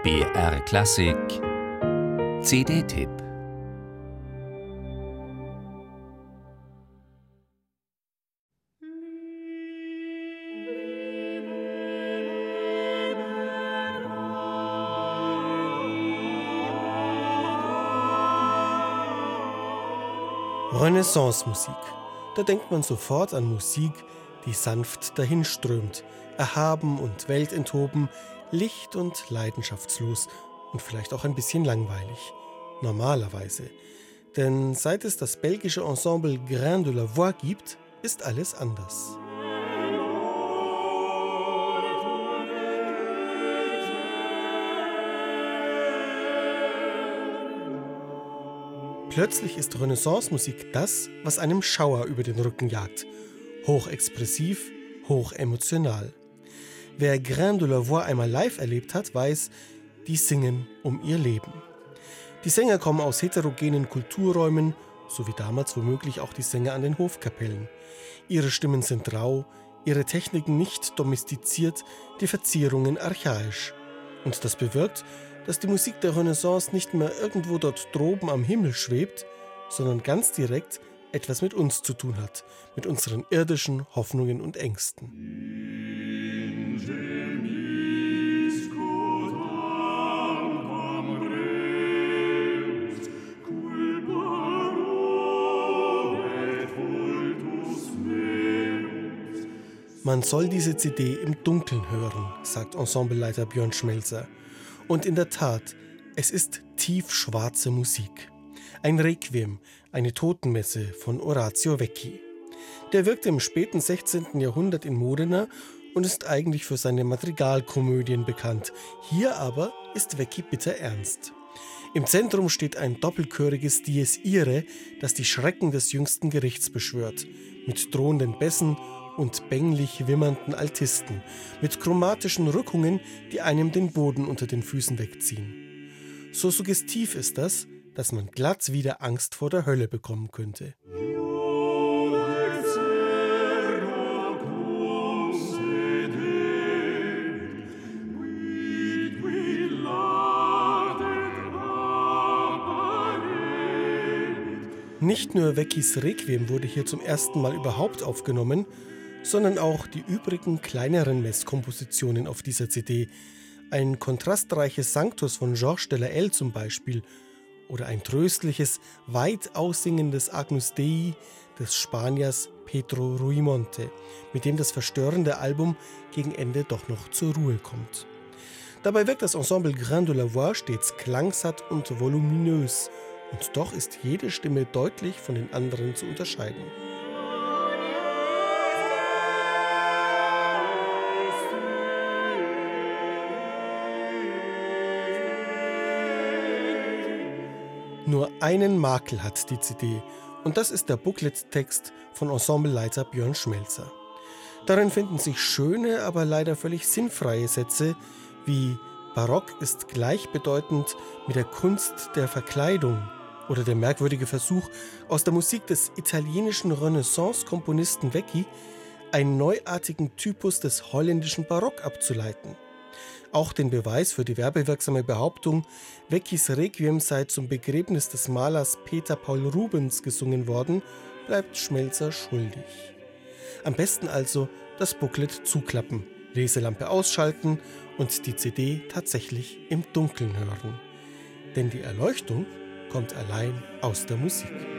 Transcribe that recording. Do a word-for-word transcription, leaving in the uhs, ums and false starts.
B R Klassik C D-Tipp. Renaissance-Musik. Da denkt man sofort an Musik, die sanft dahinströmt, erhaben und weltenthoben, licht und leidenschaftslos und vielleicht auch ein bisschen langweilig. Normalerweise. Denn seit es das belgische Ensemble Grain de la Voix gibt, ist alles anders. Plötzlich ist Renaissance-Musik das, was einem Schauer über den Rücken jagt. Hochexpressiv, hochemotional. Wer Grain de la Voix einmal live erlebt hat, weiß, die singen um ihr Leben. Die Sänger kommen aus heterogenen Kulturräumen, so wie damals womöglich auch die Sänger an den Hofkapellen. Ihre Stimmen sind rau, ihre Techniken nicht domestiziert, die Verzierungen archaisch. Und das bewirkt, dass die Musik der Renaissance nicht mehr irgendwo dort droben am Himmel schwebt, sondern ganz direkt etwas mit uns zu tun hat, mit unseren irdischen Hoffnungen und Ängsten. Man soll diese C D im Dunkeln hören, sagt Ensembleleiter Björn Schmelzer. Und in der Tat, es ist tiefschwarze Musik. Ein Requiem, eine Totenmesse von Orazio Vecchi. Der wirkte im späten sechzehnten Jahrhundert in Modena und ist eigentlich für seine Madrigalkomödien bekannt. Hier aber ist Vecchi bitterernst. Im Zentrum steht ein doppelchöriges Dies Irae, das die Schrecken des jüngsten Gerichts beschwört, mit drohenden Bässen und bänglich wimmernden Altisten, mit chromatischen Rückungen, die einem den Boden unter den Füßen wegziehen. So suggestiv ist das, dass man glatt wieder Angst vor der Hölle bekommen könnte. Nicht nur Vecchis Requiem wurde hier zum ersten Mal überhaupt aufgenommen, sondern auch die übrigen kleineren Messkompositionen auf dieser C D. Ein kontrastreiches Sanctus von Georges de la Haye zum Beispiel oder ein tröstliches, weit aussingendes Agnus Dei des Spaniers Pedro Ruimonte, mit dem das verstörende Album gegen Ende doch noch zur Ruhe kommt. Dabei wirkt das Ensemble Grain de la Voix stets klangsatt und voluminös, und doch ist jede Stimme deutlich von den anderen zu unterscheiden. Nur einen Makel hat die C D, und das ist der Booklet-Text von Ensembleleiter Björn Schmelzer. Darin finden sich schöne, aber leider völlig sinnfreie Sätze wie Barock ist gleichbedeutend mit der Kunst der Verkleidung oder der merkwürdige Versuch, aus der Musik des italienischen Renaissance-Komponisten Vecchi einen neuartigen Typus des holländischen Barock abzuleiten. Auch den Beweis für die werbewirksame Behauptung, Vecchis Requiem sei zum Begräbnis des Malers Peter Paul Rubens gesungen worden, bleibt Schmelzer schuldig. Am besten also das Booklet zuklappen, Leselampe ausschalten und die C D tatsächlich im Dunkeln hören. Denn die Erleuchtung kommt allein aus der Musik.